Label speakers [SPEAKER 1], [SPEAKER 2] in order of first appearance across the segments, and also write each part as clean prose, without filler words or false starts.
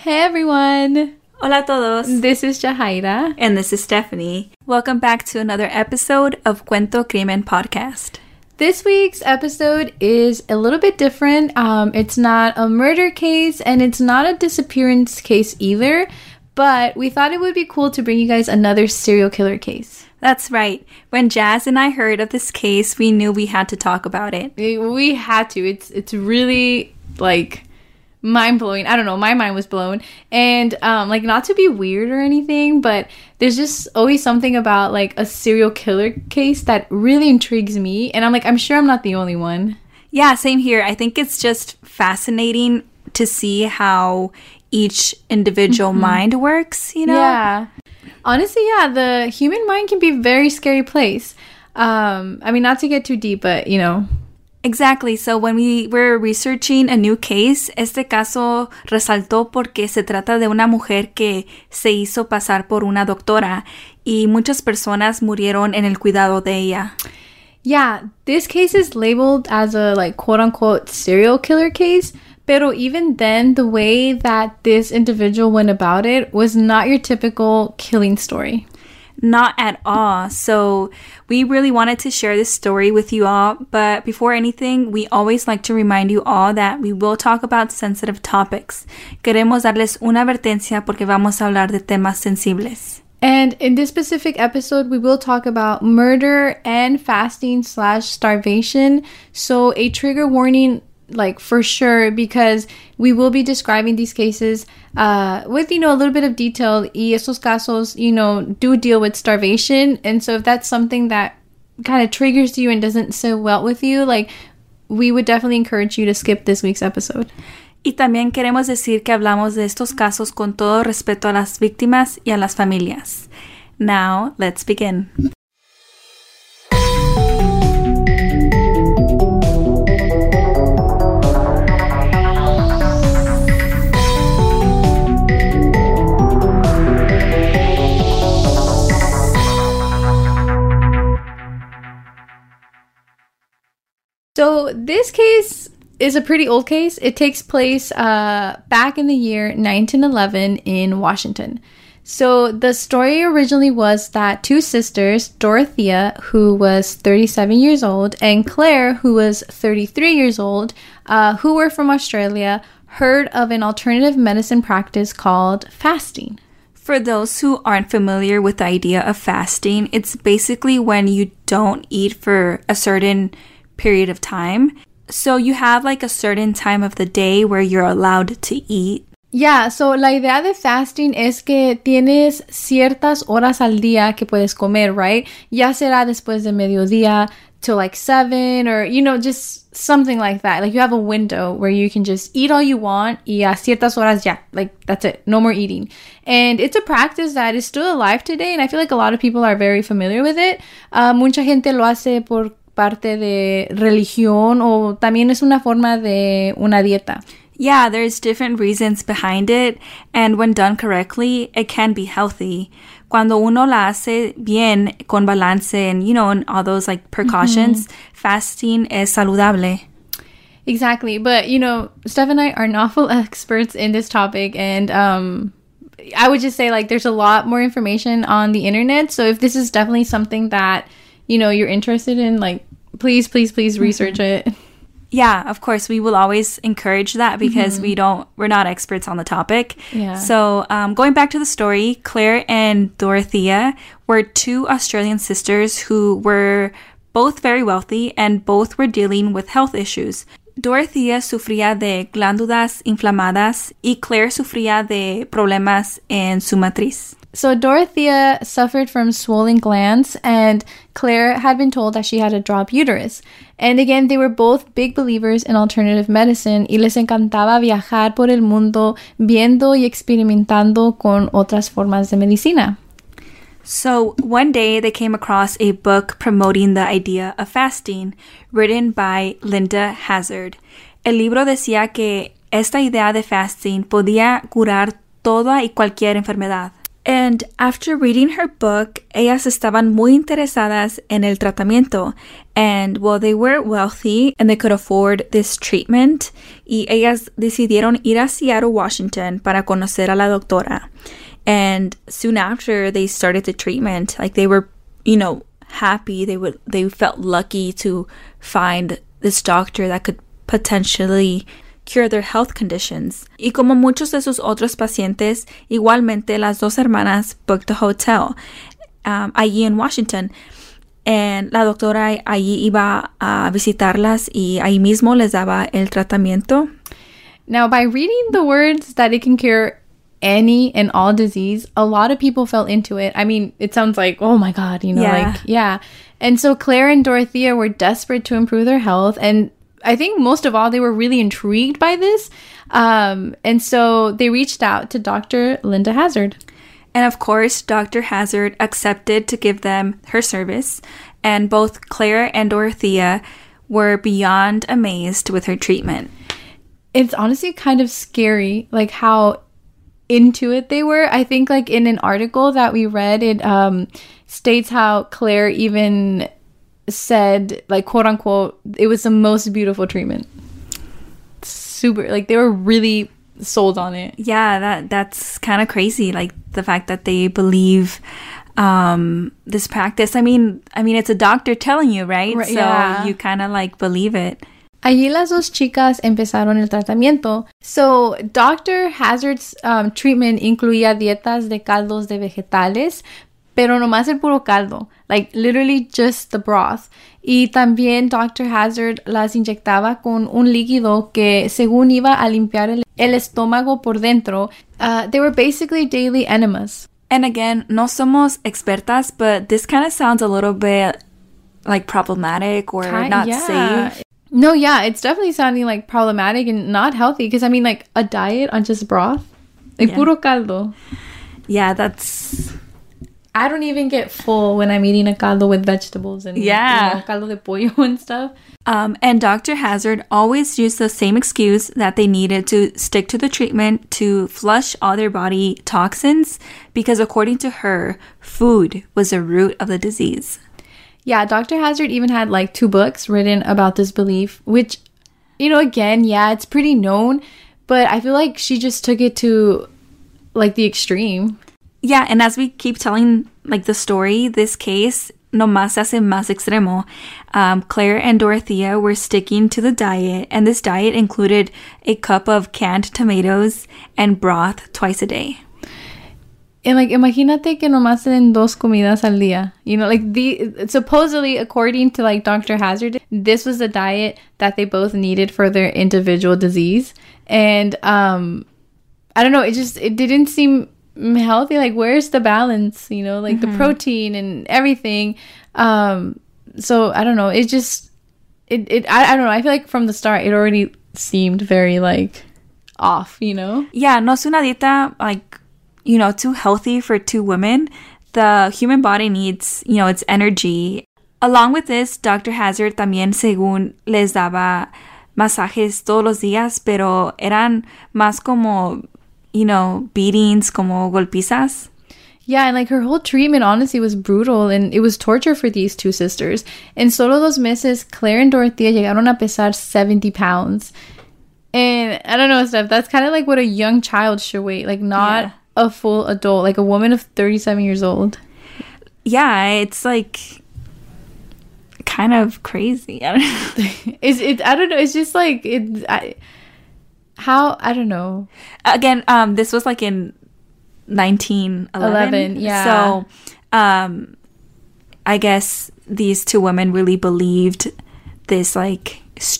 [SPEAKER 1] Hey everyone!
[SPEAKER 2] Hola a todos!
[SPEAKER 1] This is Jahaira.
[SPEAKER 2] And this is Stephanie. Welcome back to another episode of Cuento Crimen Podcast.
[SPEAKER 1] This week's episode is a little bit different. It's not a murder case and it's not a disappearance case either, but we thought it would be cool to bring you guys another serial killer case.
[SPEAKER 2] That's right. When Jazz and I heard of this case, we knew we had to talk about it.
[SPEAKER 1] We had to. It's really mind-blowing. I don't know, my mind was blown. And not to be weird or anything, but there's just always something about a serial killer case that really intrigues me, and I'm sure I'm not the only one.
[SPEAKER 2] Yeah, same here. I think it's just fascinating to see how each individual mind works, you know?
[SPEAKER 1] Yeah. Honestly, yeah, the human mind can be a very scary place. Not to get too deep, but
[SPEAKER 2] Exactly. So when we were researching a new case, este caso resaltó porque se trata de una mujer que se hizo pasar por una doctora y muchas personas murieron en el cuidado de ella.
[SPEAKER 1] Yeah, this case is labeled as a quote-unquote serial killer case, pero even then, the way that this individual went about it was not your typical killing story.
[SPEAKER 2] Not at all. So we really wanted to share this story with you all. But before anything, we always like to remind you all that we will talk about sensitive topics. Queremos darles una advertencia porque vamos a hablar de temas sensibles.
[SPEAKER 1] And in this specific episode, we will talk about murder and fasting/starvation. So a trigger warning, for sure, because we will be describing these cases with, a little bit of detail. Y estos casos, do deal with starvation. And so if that's something that kind of triggers you and doesn't sit well with you, we would definitely encourage you to skip this week's episode.
[SPEAKER 2] Y también queremos decir que hablamos de estos casos con todo respeto a las víctimas y a las familias. Now, let's begin.
[SPEAKER 1] So this case is a pretty old case. It takes place back in the year 1911 in Washington. So the story originally was that two sisters, Dorothea, who was 37 years old, and Claire, who was 33 years old, who were from Australia, heard of an alternative medicine practice called fasting.
[SPEAKER 2] For those who aren't familiar with the idea of fasting, it's basically when you don't eat for a certain period of time. So you have a certain time of the day where you're allowed to eat.
[SPEAKER 1] Yeah, so la idea de fasting es que tienes ciertas horas al día que puedes comer, right? Ya será después de mediodía till 7 or, just something like that. You have a window where you can just eat all you want y a ciertas horas ya. That's it. No more eating. And it's a practice that is still alive today, and I feel a lot of people are very familiar with it. Mucha gente lo hace por parte de religión o también es una forma de una dieta.
[SPEAKER 2] Yeah, there's different reasons behind it, and when done correctly, it can be healthy. Cuando uno la hace bien, con balance, and and all those precautions, fasting es saludable.
[SPEAKER 1] Exactly, but Steph and I are not full experts in this topic, and I would just say there's a lot more information on the internet. So if this is definitely something that you're interested in, please research it.
[SPEAKER 2] Yeah, of course, we will always encourage that because we're not experts on the topic.
[SPEAKER 1] Yeah.
[SPEAKER 2] So going back to the story, Claire and Dorothea were two Australian sisters who were both very wealthy and both were dealing with health issues. Dorothea sufría de glándulas inflamadas y Claire sufría de problemas en su matriz.
[SPEAKER 1] So Dorothea suffered from swollen glands, and Claire had been told that she had a drop uterus. And again, they were both big believers in alternative medicine y les encantaba viajar por el mundo viendo y experimentando con otras formas de medicina.
[SPEAKER 2] So one day they came across a book promoting the idea of fasting, written by Linda Hazard. El libro decía que esta idea de fasting podía curar toda y cualquier enfermedad. And after reading her book, ellas estaban muy interesadas en el tratamiento. And well, they were wealthy and they could afford this treatment. Y ellas decidieron ir a Seattle, Washington para conocer a la doctora. And soon after they started the treatment, like they were, you know, happy. They felt lucky to find this doctor that could potentially cure their health conditions. Y como muchos de sus otros pacientes, igualmente las dos hermanas booked a hotel allí en Washington. And la doctora allí iba a visitarlas y ahí mismo les daba el tratamiento.
[SPEAKER 1] Now, by reading the words that it can cure any and all disease, a lot of people fell into it. I mean, it sounds like, oh my God, you know, like, yeah. And so Claire and Dorothea were desperate to improve their health. And I think most of all, they were really intrigued by this. And so they reached out to Dr. Linda Hazard.
[SPEAKER 2] And of course, Dr. Hazard accepted to give them her service. And both Claire and Dorothea were beyond amazed with her treatment.
[SPEAKER 1] It's honestly kind of scary, like how into it they were. I think like in an article that we read, it states how Claire even said, like, quote unquote, it was the most beautiful treatment. Super, like they were really sold on it.
[SPEAKER 2] Yeah, that's kind of crazy, like the fact that they believe this practice. I mean it's a doctor telling you, right? So yeah. You kind of like believe it.
[SPEAKER 1] Allí las dos chicas empezaron el tratamiento. So, Dr. Hazard's treatment incluía dietas de caldos de vegetales, pero nomás el puro caldo. Like, literally just the broth. Y también Dr. Hazard las inyectaba con un líquido que, según iba a limpiar el estómago por dentro. They were basically daily enemas.
[SPEAKER 2] And again, no somos expertas, but this kind of sounds a little bit like problematic or not safe.
[SPEAKER 1] No, yeah, it's definitely sounding like problematic and not healthy. Because, I mean, like, a diet on just broth? Like, puro caldo.
[SPEAKER 2] Yeah, that's...
[SPEAKER 1] I don't even get full when I'm eating a caldo with vegetables and caldo de pollo and stuff.
[SPEAKER 2] And Dr. Hazard always used the same excuse that they needed to stick to the treatment to flush all their body toxins because, according to her, food was the root of the disease.
[SPEAKER 1] Yeah, Dr. Hazard even had like 2 books written about this belief, which, you know, again, yeah, it's pretty known, but I feel like she just took it to like the extreme.
[SPEAKER 2] Yeah, and as we keep telling like the story, this case nomás se hace más extremo. Claire and Dorothea were sticking to the diet, and this diet included a cup of canned tomatoes and broth twice a day.
[SPEAKER 1] And like, imagínate que nomás se den 2 comidas al día. You know, like supposedly, according to like Dr. Hazard, this was the diet that they both needed for their individual disease. And I don't know, it didn't seem healthy. Like, where's the balance? You know, like the protein and everything. So I don't know. It just I don't know. I feel like from the start it already seemed very like off. You know?
[SPEAKER 2] Yeah, no es una dieta like, you know, too healthy for 2 women. The human body needs, you know, its energy. Along with this, Dr. Hazard también, según, les daba masajes todos los días, pero eran más como, you know, beatings, como golpizas.
[SPEAKER 1] Yeah, and like her whole treatment, honestly, was brutal, and it was torture for these 2 sisters. En solo 2 meses, Claire and Dorothea llegaron a pesar 70 pounds. And I don't know, Steph, that's kind of like what a young child should weigh. Like, not a full adult, like a woman of 37 years old.
[SPEAKER 2] Yeah, it's like kind of crazy. I don't know.
[SPEAKER 1] I don't know. It's just like I don't know.
[SPEAKER 2] Again, this was like in 1911.
[SPEAKER 1] Yeah.
[SPEAKER 2] So, I guess these 2 women really believed this, like,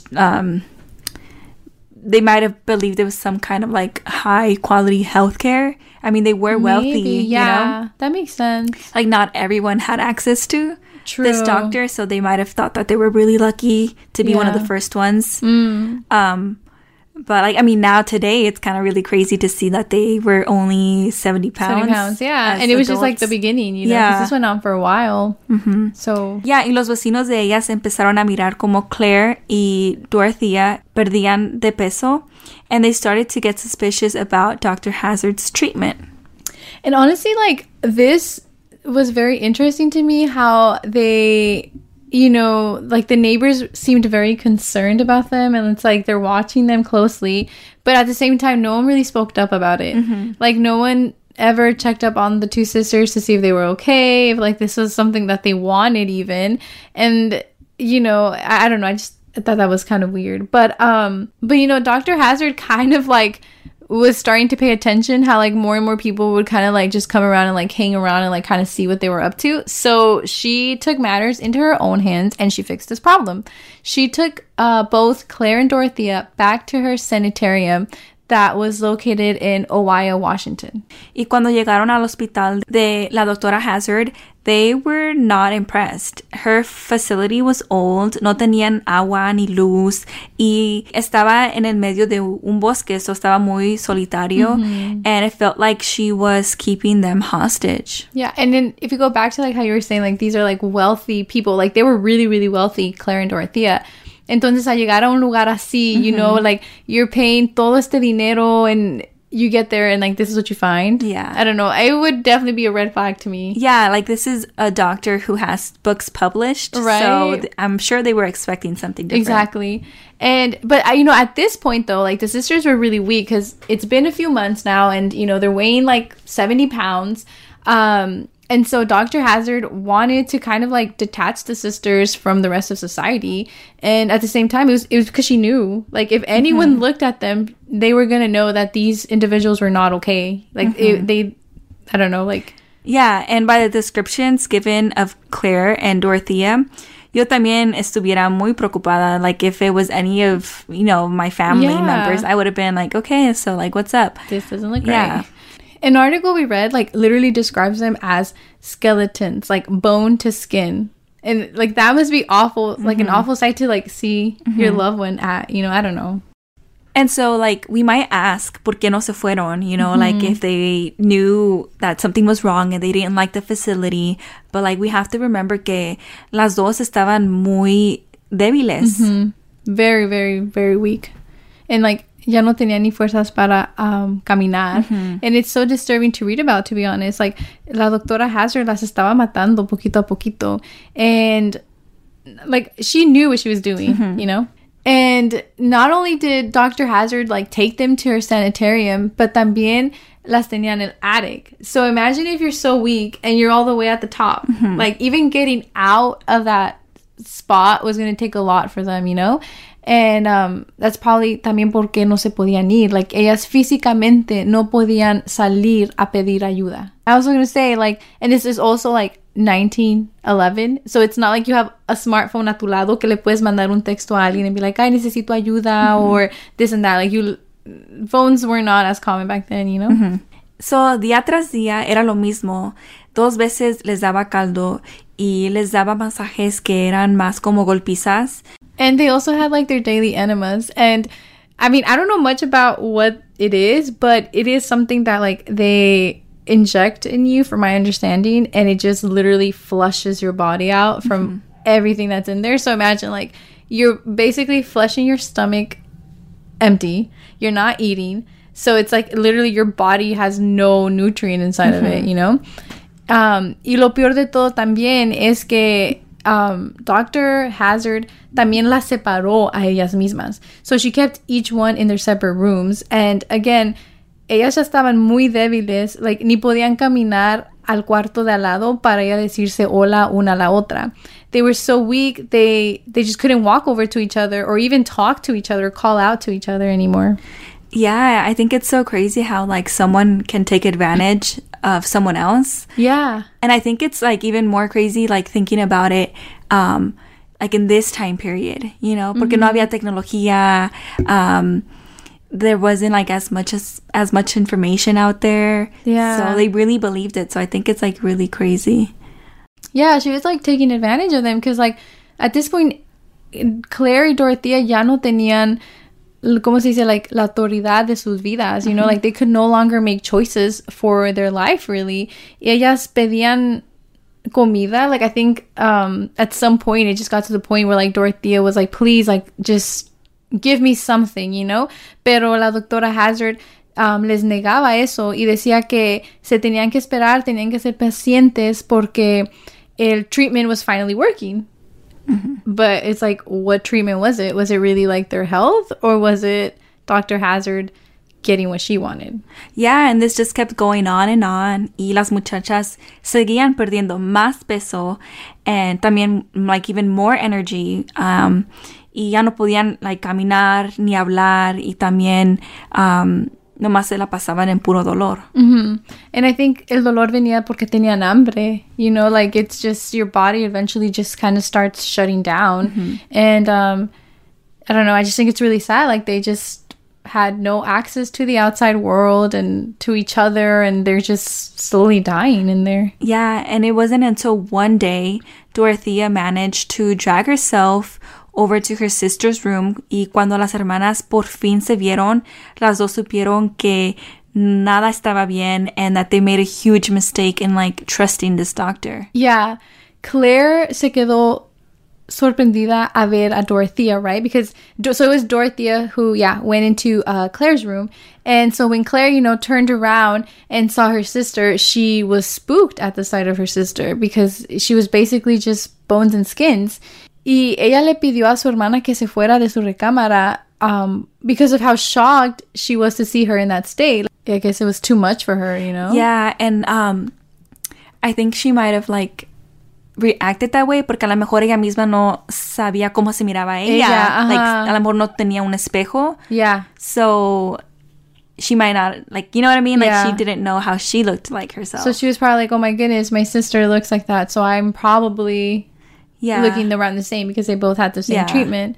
[SPEAKER 2] they might have believed there was some kind of like high quality healthcare. I mean, they were wealthy.
[SPEAKER 1] Maybe, yeah, you know? That makes sense.
[SPEAKER 2] Like, not everyone had access to this doctor, so they might have thought that they were really lucky to be one of the first ones. But like, I mean, now today it's kind of really crazy to see that they were only 70 pounds.
[SPEAKER 1] 70 pounds, yeah. And it was just like the beginning, you know, because this went on for a while. So,
[SPEAKER 2] yeah, y los vecinos de ellas empezaron a mirar como Claire y Dorothea perdían de peso, and they started to get suspicious about Dr. Hazard's treatment.
[SPEAKER 1] And honestly, like, this was very interesting to me how they, you know, like the neighbors seemed very concerned about them, and it's like they're watching them closely, but at the same time no one really spoke up about it. Like no one ever checked up on the two sisters to see if they were okay, if like this was something that they wanted even. And you know, I don't know, I just thought that was kind of weird. But you know, Dr. Hazard kind of like was starting to pay attention, how like more and more people would kind of like just come around and like hang around and like kind of see what they were up to. So she took matters into her own hands and she fixed this problem. She took both Claire and Dorothea back to her sanitarium that was located in Owaia, Washington.
[SPEAKER 2] Y cuando llegaron al hospital de la doctora Hazard, they were not impressed. Her facility was old, no tenían agua ni luz, y estaba en el medio de un bosque, so estaba muy solitario, and it felt like she was keeping them hostage.
[SPEAKER 1] Yeah, and then if you go back to like how you were saying, like these are like wealthy people, like they were really, really wealthy, Claire and Dorothea. Entonces, al llegar a un lugar así, you know, like, you're paying todo este dinero and you get there and, like, this is what you find.
[SPEAKER 2] Yeah.
[SPEAKER 1] I don't know. It would definitely be a red flag to me.
[SPEAKER 2] Yeah, like, this is a doctor who has books published.
[SPEAKER 1] Right.
[SPEAKER 2] So I'm sure they were expecting something different.
[SPEAKER 1] Exactly. But, you know, at this point, though, like, the sisters were really weak because it's been a few months now and, you know, they're weighing, like, 70 pounds. And so Dr. Hazard wanted to kind of like detach the sisters from the rest of society. And at the same time, it was because she knew, like, if anyone looked at them, they were going to know that these individuals were not okay. Like, they, I don't know, like.
[SPEAKER 2] Yeah, and by the descriptions given of Claire and Dorothea, yo también estuviera muy preocupada. Like, if it was any of, you know, my family members, I would have been like, okay, so, like, what's up?
[SPEAKER 1] This doesn't look right. An article we read, like, literally describes them as skeletons, like, bone to skin. And, like, that must be awful, like, an awful sight to, like, see your loved one at, you know, I don't know.
[SPEAKER 2] And so, like, we might ask, ¿por qué no se fueron? You know, like, if they knew that something was wrong and they didn't like the facility. But, like, we have to remember que las dos estaban muy débiles.
[SPEAKER 1] Very, very, very weak. And, like, ya no tenía ni fuerzas para caminar. And it's so disturbing to read about, to be honest. Like, la doctora Hazard las estaba matando poquito a poquito. And, like, she knew what she was doing, you know? And not only did Dr. Hazard, like, take them to her sanitarium, but también las tenía en el attic. So imagine if you're so weak and you're all the way at the top. Like, even getting out of that spot was going to take a lot for them, you know? And that's probably también porque no se podían ir. Like, ellas físicamente no podían salir a pedir ayuda. I was going to say, like, and this is also, like, 1911. So it's not like you have a smartphone a tu lado que le puedes mandar un texto a alguien and be like, ay, necesito ayuda, or this and that. Like, phones were not as common back then, you know?
[SPEAKER 2] So, día tras día era lo mismo. 2 veces les daba caldo y les daba masajes que eran más como golpizas.
[SPEAKER 1] And they also had, like, their daily enemas. And, I mean, I don't know much about what it is, but it is something that, like, they inject in you, from my understanding, and it just literally flushes your body out from everything that's in there. So imagine, like, you're basically flushing your stomach empty. You're not eating. So it's, like, literally your body has no nutrient inside of it, you know? Y lo peor de todo también es que Dr. Hazard también las separó a ellas mismas. So she kept each one in their separate rooms. And again, ellas ya estaban muy débiles. Like, ni podían caminar al cuarto de al lado para ella decirse hola una a la otra. They were so weak, they just couldn't walk over to each other or even talk to each other, call out to each other anymore.
[SPEAKER 2] Yeah, I think it's so crazy how, like, someone can take advantage of someone else.
[SPEAKER 1] Yeah.
[SPEAKER 2] And I think it's, like, even more crazy, like, thinking about it, like, in this time period, you know, porque no había tecnología, there wasn't, like, as much information out there.
[SPEAKER 1] Yeah.
[SPEAKER 2] So they really believed it. So I think it's, like, really crazy.
[SPEAKER 1] Yeah, she was, like, taking advantage of them because, like, at this point, Claire y Dorothea ya no tenían, ¿cómo se dice? Like, la autoridad de sus vidas, you know? Like, they could no longer make choices for their life, really. Y ellas pedían comida. Like, I think at some point, it just got to the point where, like, Dorothea was like, please, like, just give me something, you know? Pero la doctora Hazard les negaba eso y decía que se tenían que esperar, tenían que ser pacientes porque el treatment was finally working. Mm-hmm. But it's like, what treatment was it? Was it really like their health, or was it Dr. Hazard getting what she wanted?
[SPEAKER 2] Yeah, and this just kept going on and on. Y las muchachas seguían perdiendo más peso and también like even more energy. Y ya no podían like caminar ni hablar y también nomás se la pasaban en puro dolor.
[SPEAKER 1] Mm-hmm. And I think el dolor venía porque tenían hambre. You know, like it's just your body eventually just kind of starts shutting down. Mm-hmm. And I don't know, I just think it's really sad. Like they just had no access to the outside world and to each other, and they're just slowly dying in there.
[SPEAKER 2] Yeah, and it wasn't until one day Dorothea managed to drag herself over to her sister's room, y cuando las hermanas por fin se vieron, las dos supieron que nada estaba bien and that they made a huge mistake in like trusting this doctor.
[SPEAKER 1] Yeah, Claire se quedó sorprendida a ver a Dorothea, right? Because so it was Dorothea who went into Claire's room, and so when Claire, you know, turned around and saw her sister, she was spooked at the sight of her sister because she was basically just bones and skins. Y ella le pidió a su hermana que se fuera de su recámara because of how shocked she was to see her in that state. I guess it was too much for her, you know?
[SPEAKER 2] Yeah, and I think she might have like reacted that way porque a lo mejor ella misma no sabía cómo se miraba ella. Like, a lo mejor no tenía un espejo.
[SPEAKER 1] Yeah.
[SPEAKER 2] So she might not, like, you know what I mean? Like, she didn't know how she looked like herself.
[SPEAKER 1] So she was probably like, oh my goodness, my sister looks like that, so I'm probably looking around the same because they both had the same treatment.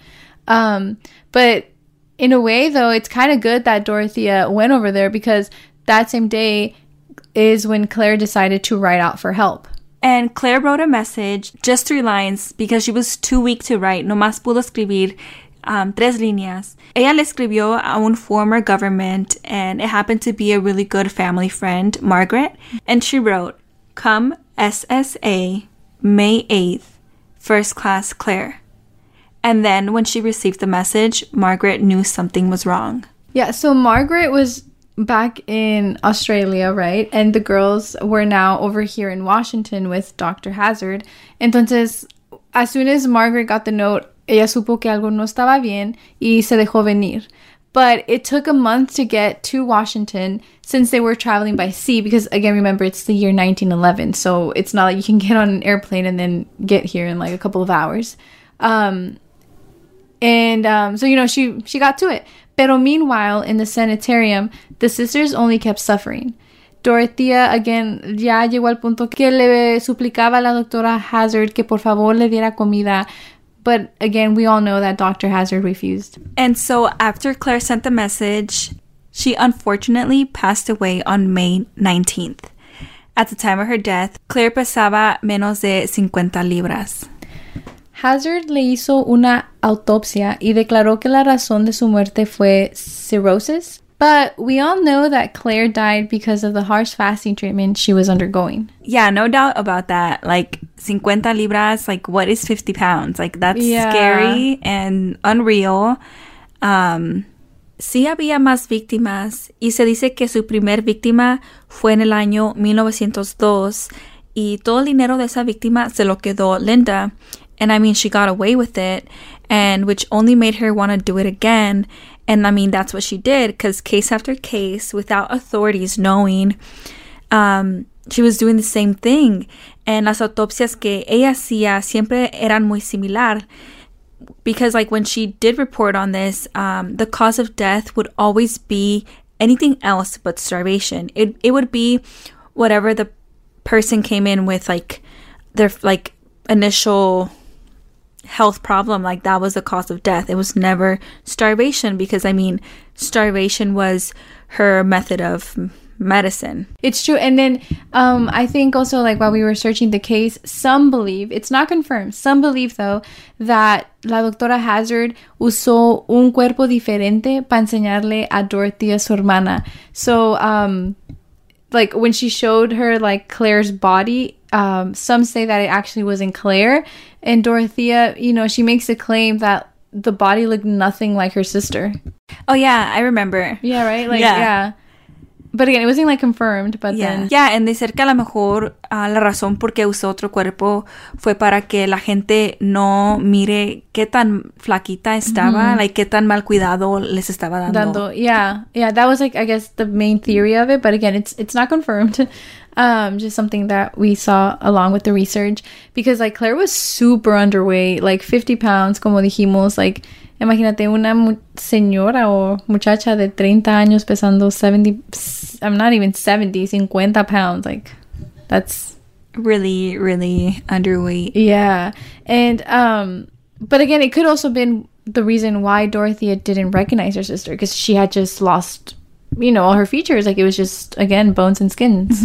[SPEAKER 1] But in a way, though, it's kind of good that Dorothea went over there because that same day is when Claire decided to write out for help.
[SPEAKER 2] And Claire wrote a message, just 3 lines, because she was too weak to write. Nomás pudo escribir 3 líneas. Ella le escribió a un former government, and it happened to be a really good family friend, Margaret. And she wrote, "Come SSA, May 8th, First Class Claire." And then when she received the message, Margaret knew something was wrong.
[SPEAKER 1] Yeah, so Margaret was back in Australia, right? And the girls were now over here in Washington with Dr. Hazard. Entonces, as soon as Margaret got the note, ella supo que algo no estaba bien y se dejó venir. But it took a month to get to Washington since they were traveling by sea because, again, remember, it's the year 1911. So it's not like you can get on an airplane and then get here in like a couple of hours. So, you know, she got to it. Pero meanwhile, in the sanitarium, the sisters only kept suffering. Dorothea, again, ya llegó al punto que le suplicaba a la doctora Hazard que por favor le diera comida. But again, we all know that Dr. Hazard refused.
[SPEAKER 2] And so after Claire sent the message, she unfortunately passed away on May 19th. At the time of her death, Claire pesaba menos de 50 libras.
[SPEAKER 1] Hazard le hizo una autopsia y declaró que la razón de su muerte fue cirrhosis. But we all know that Claire died because of the harsh fasting treatment she was undergoing.
[SPEAKER 2] Yeah, no doubt about that. Like, 50 libras, like, what is 50 pounds? Like, that's scary and unreal. Sí había más víctimas y se dice que su primer víctima fue en el año 1902 y todo el dinero de esa víctima se lo quedó Linda. And I mean, she got away with it, and which only made her want to do it again. And I mean, that's what she did, because case after case, without authorities knowing, she was doing the same thing. And las autopsias que ella hacía siempre eran muy similar. Because like when she did report on this, the cause of death would always be anything else but starvation. It would be whatever the person came in with, like their like initial health problem, like that was the cause of death. It was never starvation because, I mean, starvation was her method of medicine.
[SPEAKER 1] It's true. And then I think also, like, while we were searching the case, some believe, it's not confirmed, some believe though that la doctora Hazard usó un cuerpo diferente para enseñarle a Dorothea su hermana. So like when she showed her like Claire's body, some say that it actually wasn't Claire, and Dorothea, you know, she makes a claim that the body looked nothing like her sister.
[SPEAKER 2] Oh yeah, I remember.
[SPEAKER 1] Yeah, right? Like, yeah. But again, it wasn't like confirmed, but then...
[SPEAKER 2] Yeah, and they said que a lo mejor la razón por qué usó otro cuerpo fue para que la gente no mire qué tan flaquita estaba, like qué tan mal cuidado les estaba dando.
[SPEAKER 1] Yeah, that was like, I guess, the main theory of it, but again, it's not confirmed. Just something that we saw along with the research, because like Claire was super underweight, like 50 pounds, como dijimos, like... Imagínate una señora o muchacha de 30 años pesando 70, I'm not even 70, 50 pounds. Like, that's...
[SPEAKER 2] Really, really underweight.
[SPEAKER 1] Yeah. And, but again, it could also been the reason why Dorothea didn't recognize her sister, because she had just lost, you know, all her features. Like, it was just, again, bones and skins.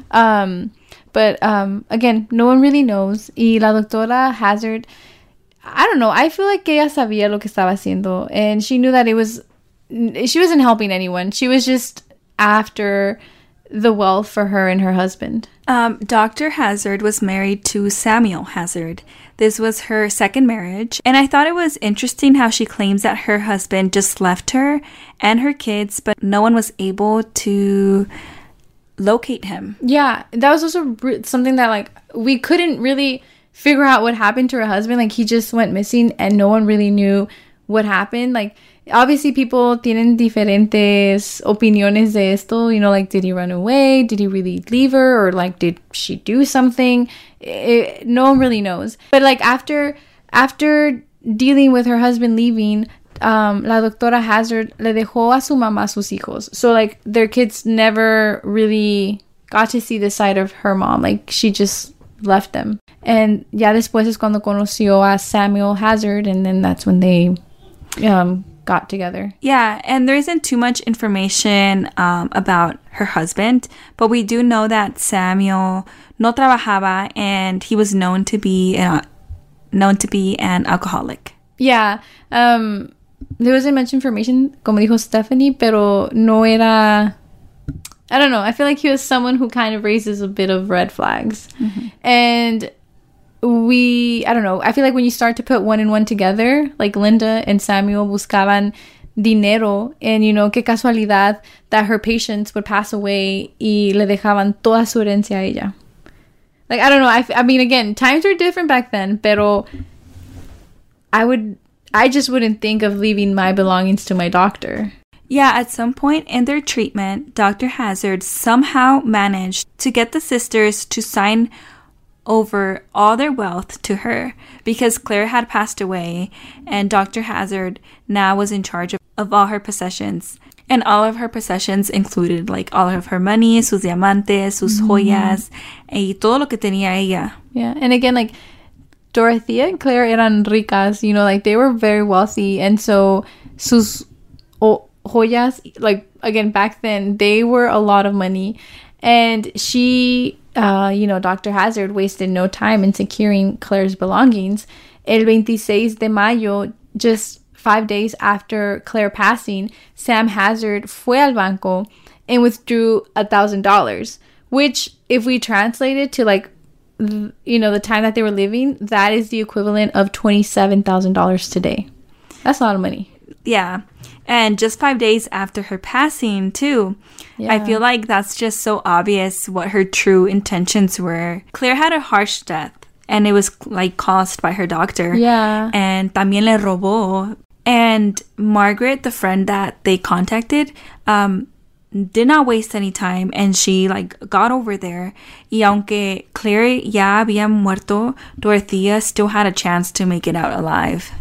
[SPEAKER 1] But, again, no one really knows. Y la doctora Hazard... I don't know. I feel like ella sabía lo que estaba haciendo, and she knew that she wasn't helping anyone. She was just after the wealth for her and her husband.
[SPEAKER 2] Dr. Hazard was married to Samuel Hazard. This was her second marriage, and I thought it was interesting how she claims that her husband just left her and her kids, but no one was able to locate him.
[SPEAKER 1] Yeah, that was also something that, like, we couldn't really figure out what happened to her husband. Like, he just went missing and no one really knew what happened. Like, obviously people tienen diferentes opiniones de esto, you know, like, did he run away, did he really leave her, or like, did she do something? No one really knows. But like, after dealing with her husband leaving, la doctora Hazard le dejó a su mamá sus hijos, so like their kids never really got to see the side of her mom. Like, she just left them. And ya después es cuando conoció a Samuel Hazard, and then that's when they got together.
[SPEAKER 2] Yeah, and there isn't too much information about her husband, but we do know that Samuel no trabajaba, and he was known to be an alcoholic.
[SPEAKER 1] Yeah, there wasn't much information, como dijo Stephanie, pero no era... I don't know. I feel like he was someone who kind of raises a bit of red flags. And I don't know. I feel like when you start to put one and one together, like Linda and Samuel buscaban dinero, and, you know, qué casualidad that her patients would pass away y le dejaban toda su herencia a ella. Like, I don't know. I mean, again, times were different back then, pero I just wouldn't think of leaving my belongings to my doctor.
[SPEAKER 2] Yeah, at some point in their treatment, Dr. Hazard somehow managed to get the sisters to sign over all their wealth to her, because Claire had passed away and Dr. Hazard now was in charge of all her possessions. And all of her possessions included, like, all of her money, sus diamantes, sus joyas, y todo lo que tenía ella.
[SPEAKER 1] Yeah, and again, like, Dorothea and Claire eran ricas, you know, like, they were very wealthy, and so sus joyas, like, again, back then, they were a lot of money. And she, you know, Dr. Hazard wasted no time in securing Claire's belongings. El 26 de mayo, just 5 days after Claire passing, Sam Hazard fue al banco and withdrew $1,000, which, if we translate it to, like, you know, the time that they were living, that is the equivalent of $27,000 today. That's a lot of money.
[SPEAKER 2] Yeah. And just 5 days after her passing, too. Yeah. I feel like that's just so obvious what her true intentions were. Claire had a harsh death, and it was, like, caused by her doctor.
[SPEAKER 1] Yeah.
[SPEAKER 2] And también le robó. And Margaret, the friend that they contacted, did not waste any time, and she, like, got over there. Y aunque Claire ya había muerto, Dorothea still had a chance to make it out alive.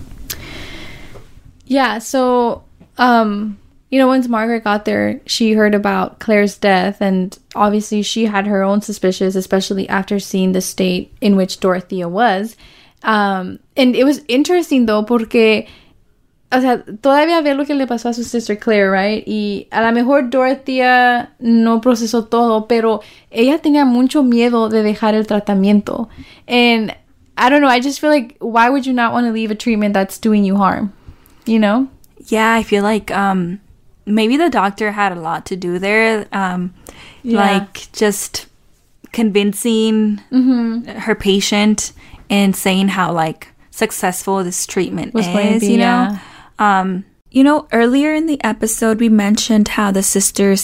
[SPEAKER 2] Yeah,
[SPEAKER 1] so, you know, once Margaret got there, she heard about Claire's death, and obviously she had her own suspicions, especially after seeing the state in which Dorothea was. And it was interesting, though, porque, o sea, todavía ve lo que le pasó a su sister Claire, right? Y a lo mejor Dorothea no procesó todo, pero ella tenía mucho miedo de dejar el tratamiento. And I don't know, I just feel like, why would you not want to leave a treatment that's doing you harm? You know?
[SPEAKER 2] Yeah, I feel like maybe the doctor had a lot to do there. Like, just convincing her patient and saying how, like, successful this treatment is, you know? You know, earlier in the episode, we mentioned how the sisters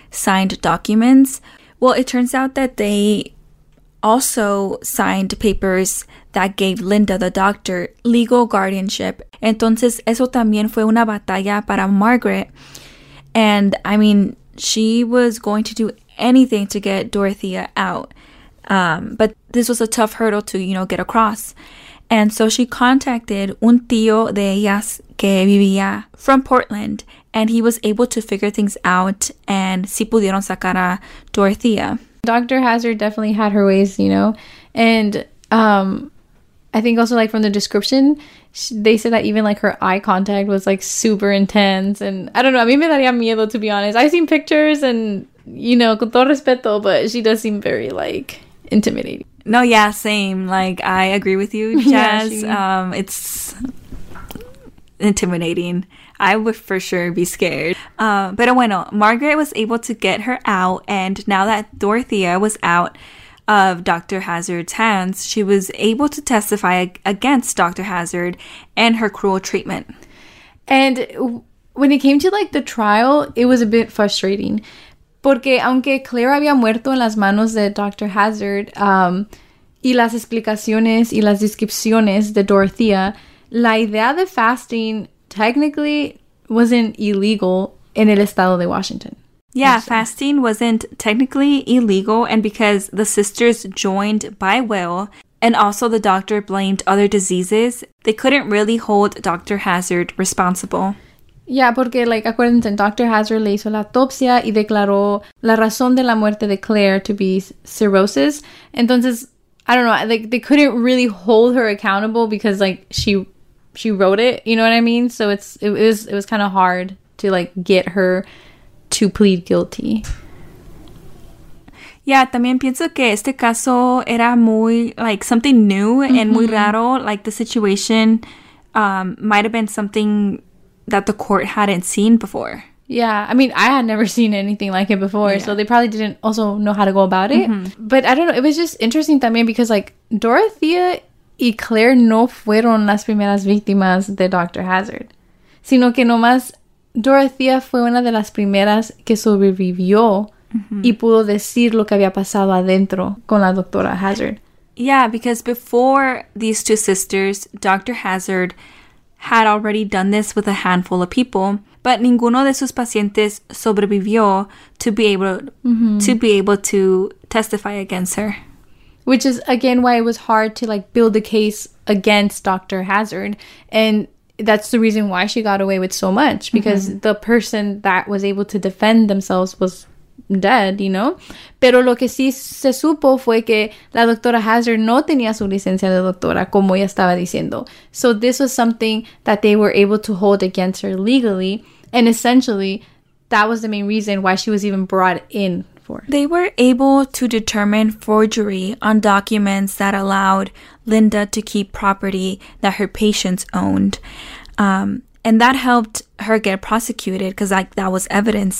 [SPEAKER 2] signed documents. Well, it turns out that they also signed papers that gave Linda, the doctor, legal guardianship. Entonces, eso también fue una batalla para Margaret. And, I mean, she was going to do anything to get Dorothea out. But this was a tough hurdle to, get across. And so she contacted un tío de ellas que vivía from Portland, and he was able to figure things out, and sí pudieron sacar a Dorothea.
[SPEAKER 1] Dr. Hazard definitely had her ways, and I think also like from the description, they said that even like her eye contact was like super intense, and I don't know, a mí me daría miedo, to be honest. I've seen pictures and, con todo respeto, but she does seem very like intimidating.
[SPEAKER 2] No, yeah, same. Like, I agree with you, Jazz.
[SPEAKER 1] Yeah,
[SPEAKER 2] it's intimidating. I would for sure be scared. Pero bueno, Margaret was able to get her out, and now that Dorothea was out of Dr. Hazard's hands, she was able to testify against Dr. Hazard and her cruel treatment.
[SPEAKER 1] And when it came to like the trial, it was a bit frustrating. Porque aunque Claire había muerto en las manos de Dr. Hazard, y las explicaciones y las descripciones de Dorothea, la idea de fasting technically wasn't illegal en el estado de Washington.
[SPEAKER 2] Yeah, fasting wasn't technically illegal, and because the sisters joined by will, and also the doctor blamed other diseases, they couldn't really hold Dr. Hazard responsible.
[SPEAKER 1] Yeah, porque, like, acuérdense, Dr. Hazard le hizo la autopsia y declaró la razón de la muerte de Claire to be cirrhosis. Entonces, I don't know, like, they couldn't really hold her accountable because, like, she wrote it, you know what I mean? So it was kind of hard to, like, get her to plead guilty.
[SPEAKER 2] Yeah, también pienso que este caso era muy, like, something new and muy raro. Like, the situation might have been something that the court hadn't seen before.
[SPEAKER 1] Yeah, I mean, I had never seen anything like it before, so they probably didn't also know how to go about it. But I don't know, it was just interesting también because, like, Dorothea y Claire no fueron las primeras víctimas de Dr. Hazard, sino que nomás Dorothea fue una de las primeras que sobrevivió y pudo decir lo que había pasado adentro con la doctora Hazard.
[SPEAKER 2] Yeah, because before these two sisters, Dr. Hazard had already done this with a handful of people, but ninguno de sus pacientes sobrevivió to be able to testify against her.
[SPEAKER 1] Which is, again, why it was hard to, like, build a case against Dr. Hazard. And that's the reason why she got away with so much, because the person that was able to defend themselves was dead, Pero lo que sí se supo fue que la doctora Hazard no tenía su licencia de doctora, como ella estaba diciendo. So this was something that they were able to hold against her legally, and essentially that was the main reason why she was even brought in for.
[SPEAKER 2] They were able to determine forgery on documents that allowed Linda to keep property that her patients owned. And that helped her get prosecuted because, like, that was evidence.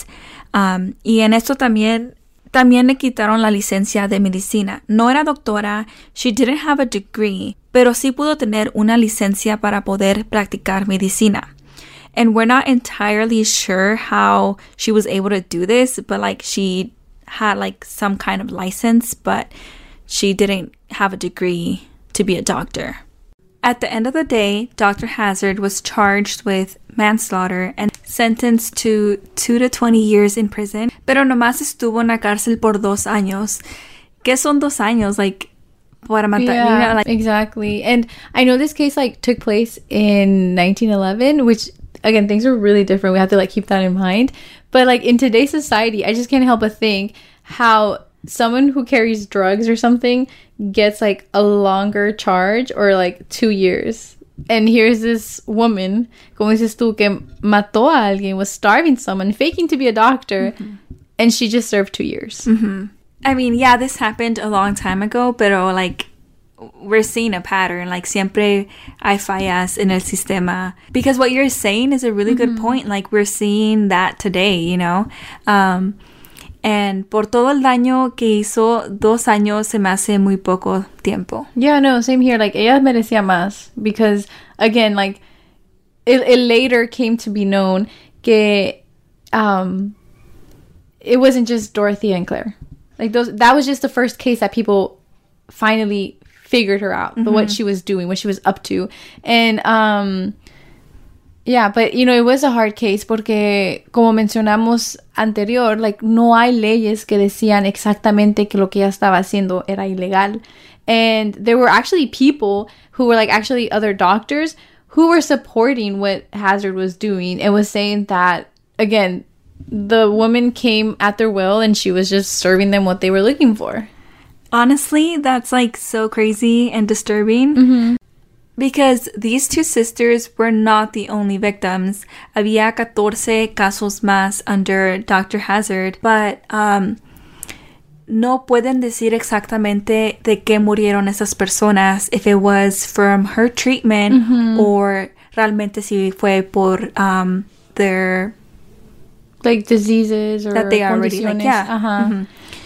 [SPEAKER 2] Y en esto también le quitaron la licencia de medicina. No era doctora, she didn't have a degree, pero sí pudo tener una licencia para poder practicar medicina. And we're not entirely sure how she was able to do this, but, like, she had, like, some kind of license, but she didn't have a degree to be a doctor. At the end of the day, Dr. Hazard was charged with manslaughter and sentenced to 2 to 20 years in prison, pero nomás estuvo en la cárcel por 2 años. ¿Qué son 2 años? Like, para matar.
[SPEAKER 1] Yeah,
[SPEAKER 2] like,
[SPEAKER 1] exactly. And I know this case, like, took place in 1911, which, again, things were really different. We have to, like, keep that in mind. But, like, in today's society, I just can't help but think how someone who carries drugs or something gets, like, a longer charge, or, like, 2 years. And here's this woman, como dices tú, que mató a alguien, was starving someone, faking to be a doctor, and she just served 2 years.
[SPEAKER 2] I mean, yeah, this happened a long time ago, pero, like, we're seeing a pattern. Like, siempre hay fallas en el sistema. Because what you're saying is a really good point. Like, we're seeing that today, And por todo el daño que hizo, 2 años se me hace muy poco tiempo.
[SPEAKER 1] Yeah, no, same here. Like, ella merecía más. Because, again, like, it later came to be known que it wasn't just Dorothea and Claire. Like that was just the first case that people finally figured her out, what she was doing, what she was up to. And yeah, but it was a hard case porque como mencionamos anterior, like no hay leyes que decían exactamente que lo que ella estaba haciendo era ilegal. And there were actually people who were like actually other doctors who were supporting what Hazard was doing and was saying that, again, the woman came at their will and she was just serving them what they were looking for.
[SPEAKER 2] Honestly, that's like so crazy and disturbing because these two sisters were not the only victims. Había 14 casos más under Dr. Hazard, but no pueden decir exactamente de qué murieron esas personas, if it was from her treatment or realmente si fue por their
[SPEAKER 1] like diseases or
[SPEAKER 2] that they already like, yeah.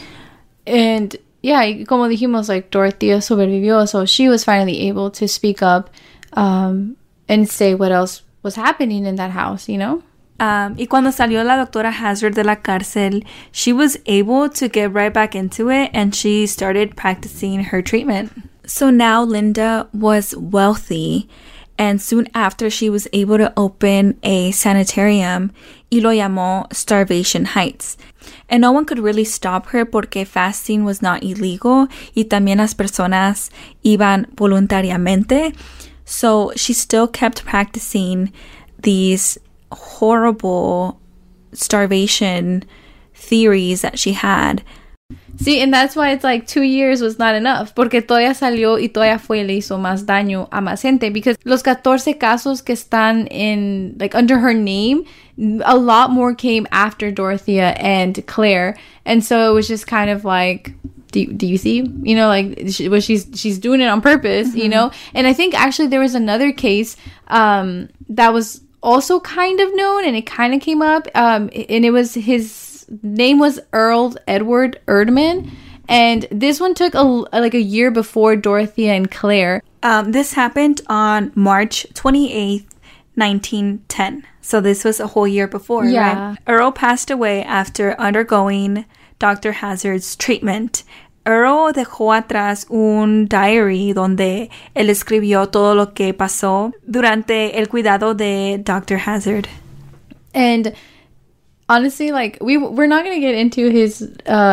[SPEAKER 1] And yeah, como dijimos, like Dorothea sobrevivió, so she was finally able to speak up and say what else was happening in that house,
[SPEAKER 2] Y cuando salió la doctora Hazard de la cárcel, she was able to get right back into it and she started practicing her treatment. So now Linda was wealthy, and soon after she was able to open a sanitarium y lo llamó Starvation Heights. And no one could really stop her porque fasting was not illegal y también las personas iban voluntariamente. So she still kept practicing these horrible starvation theories that she had.
[SPEAKER 1] See, and that's why it's like 2 years was not enough, porque todavía salió y todavía fue y le hizo más daño a más gente, because los 14 casos que están in, like, under her name, a lot more came after Dorothea and Claire, and so it was just kind of like, do you see, she's doing it on purpose, and I think actually there was another case that was also kind of known, and it kind of came up, and it was his name was Earl Edward Erdman, and this one took a year before Dorothea and Claire.
[SPEAKER 2] This happened on March 28th, 1910. So this was a whole year before, right? Earl passed away after undergoing Dr. Hazard's treatment. Earl dejó atrás un diary donde él escribió todo lo que pasó durante el cuidado de Dr. Hazard.
[SPEAKER 1] And honestly, like, we're not going to get into his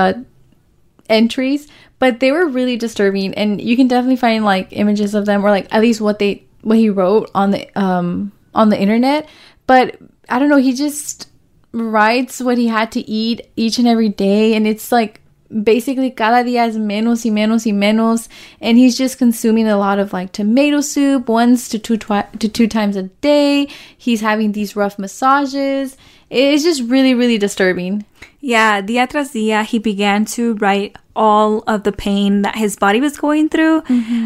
[SPEAKER 1] entries, but they were really disturbing, and you can definitely find like images of them, or like at least what he wrote on the internet. But I don't know, he just writes what he had to eat each and every day, and it's like basically cada día es menos y menos y menos, and he's just consuming a lot of like tomato soup 1 to 2 times a day. He's having these rough massages. It's just really, really disturbing.
[SPEAKER 2] Yeah, día tras día, he began to write all of the pain that his body was going through.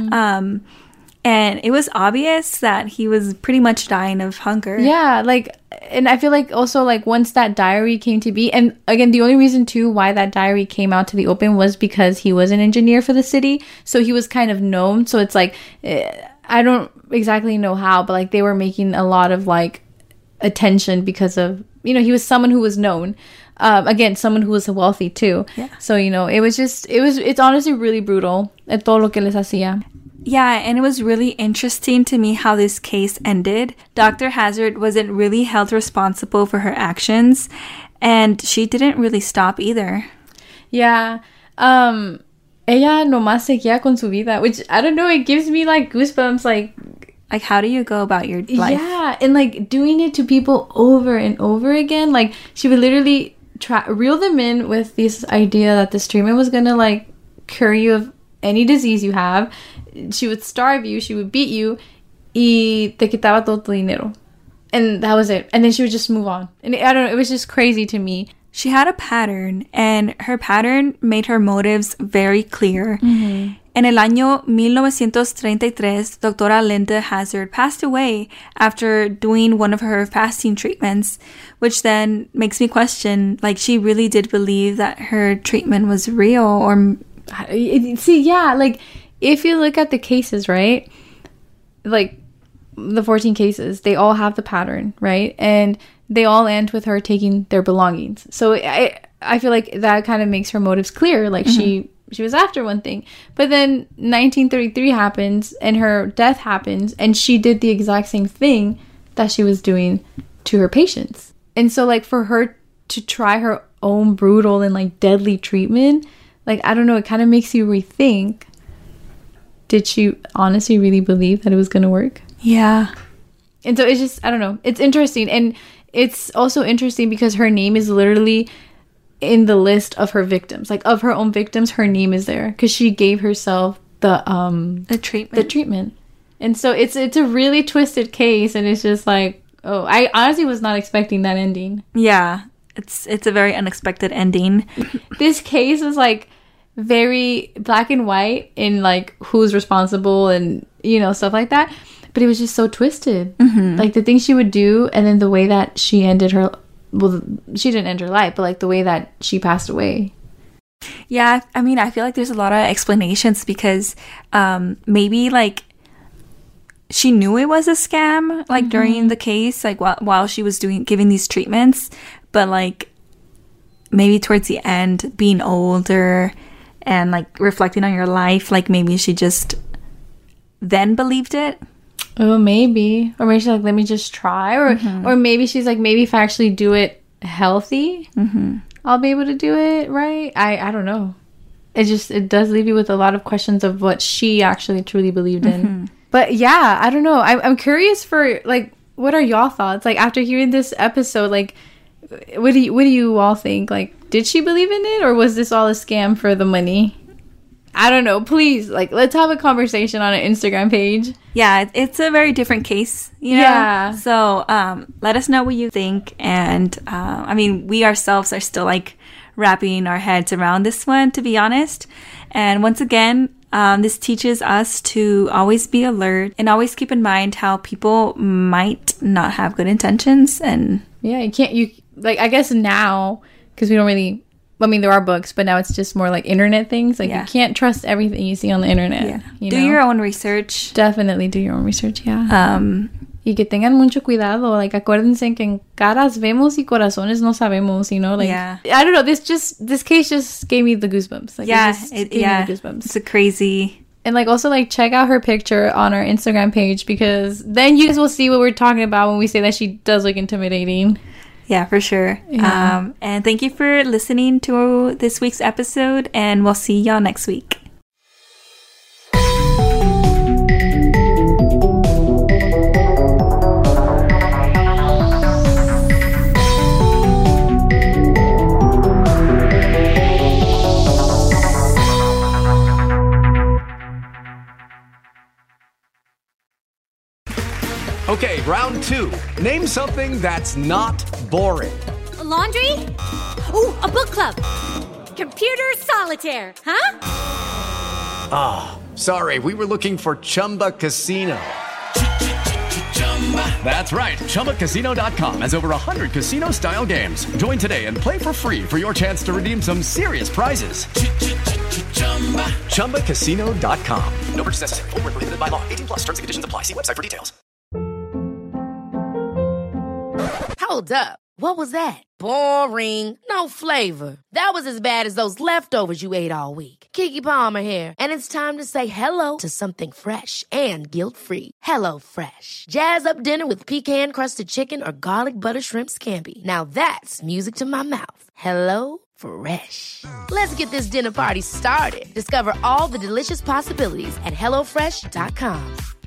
[SPEAKER 2] And it was obvious that he was pretty much dying of hunger.
[SPEAKER 1] Yeah, like, and I feel like also like once that diary came to be, and again, the only reason too why that diary came out to the open was because he was an engineer for the city. So he was kind of known. So it's like, I don't exactly know how, but like they were making a lot of like attention because of, he was someone who was known. Again, someone who was wealthy too.
[SPEAKER 2] Yeah.
[SPEAKER 1] So, it's honestly really brutal. Todo lo que les hacía.
[SPEAKER 2] Yeah, and it was really interesting to me how this case ended. Dr. Hazard wasn't really held responsible for her actions, and she didn't really stop either.
[SPEAKER 1] Yeah. Ella nomás seguía con su vida, which, I don't know, it gives me like goosebumps, like
[SPEAKER 2] how do you go about your life?
[SPEAKER 1] Yeah, and like doing it to people over and over again. Like, she would literally reel them in with this idea that this treatment was gonna like cure you of any disease you have. She would starve you, she would beat you, y te quitaba todo tu dinero. And that was it. And then she would just move on. And I don't know, it was just crazy to me.
[SPEAKER 2] She had a pattern, and her pattern made her motives very clear. En el año 1933, Doctora Linda Hazard passed away after doing one of her fasting treatments, which then makes me question, like, she really did believe that her treatment was real, or...
[SPEAKER 1] See, yeah, like, if you look at the cases, right, like, the 14 cases, they all have the pattern, right? And they all end with her taking their belongings. So I feel like that kind of makes her motives clear. Like she was after one thing. But then 1933 happens and her death happens and she did the exact same thing that she was doing to her patients. And so like for her to try her own brutal and like deadly treatment, like I don't know, it kind of makes you rethink, did she honestly really believe that it was going to work?
[SPEAKER 2] Yeah.
[SPEAKER 1] And so it's just, I don't know, it's interesting. And it's also interesting because her name is literally in the list of her victims, like of her own victims, her name is there because she gave herself the treatment. And so it's a really twisted case, and it's just like, oh, I honestly was not expecting that ending.
[SPEAKER 2] Yeah, it's a very unexpected ending.
[SPEAKER 1] This case was like very black and white in like who's responsible and, you know, stuff like that. But it was just so twisted. Like the things she would do, and then the way that she ended her, well, she didn't end her life, but like the way that she passed away.
[SPEAKER 2] Yeah, I mean, I feel like there's a lot of explanations because maybe like she knew it was a scam, like during the case, like while she was giving these treatments, but like maybe towards the end, being older and like reflecting on your life, like maybe she just then believed it.
[SPEAKER 1] Oh, maybe. Or maybe she's like, let me just try. Or maybe she's like, maybe if I actually do it healthy, I'll be able to do it right. I don't know. It does leave you with a lot of questions of what she actually truly believed in. But yeah, I don't know. I'm curious for like, what are y'all thoughts? Like after hearing this episode, like what do you all think? Like, did she believe in it, or was this all a scam for the money? I don't know. Please, like, let's have a conversation on an Instagram page.
[SPEAKER 2] Yeah, it's a very different case, you know?
[SPEAKER 1] Yeah.
[SPEAKER 2] So let us know what you think. And I mean, we ourselves are still like wrapping our heads around this one, to be honest. And once again, this teaches us to always be alert and always keep in mind how people might not have good intentions. And
[SPEAKER 1] yeah, I guess now, because we don't really, I mean, there are books, but now it's just more like internet things. Like you can't trust everything you see on the internet.
[SPEAKER 2] Yeah.
[SPEAKER 1] You
[SPEAKER 2] do your own research.
[SPEAKER 1] Definitely do your own research, yeah. Y que tengan mucho cuidado. Like, acuérdense que en caras vemos y corazones no sabemos, you know? Like, I don't know. This case just gave me the goosebumps. Like, it gave me the goosebumps.
[SPEAKER 2] It's a crazy.
[SPEAKER 1] And like, also like, check out her picture on our Instagram page, because then you guys will see what we're talking about when we say that she does look intimidating.
[SPEAKER 2] Yeah, for sure. Yeah. And thank you for listening to this week's episode, and we'll see y'all next week.
[SPEAKER 3] Okay, round two. Name something that's not boring.
[SPEAKER 4] A laundry? Ooh, a book club. Computer solitaire, huh?
[SPEAKER 3] Ah, sorry, we were looking for Chumba Casino. That's right, ChumbaCasino.com has over 100 casino-style games. Join today and play for free for your chance to redeem some serious prizes. ChumbaCasino.com. No purchase necessary. Void where prohibited by law. 18+ terms and conditions apply. See website for details.
[SPEAKER 5] Hold up. What was that? Boring. No flavor. That was as bad as those leftovers you ate all week. Keke Palmer here. And it's time to say hello to something fresh and guilt-free. Hello Fresh. Jazz up dinner with pecan-crusted chicken or garlic butter shrimp scampi. Now that's music to my mouth. Hello Fresh. Let's get this dinner party started. Discover all the delicious possibilities at HelloFresh.com.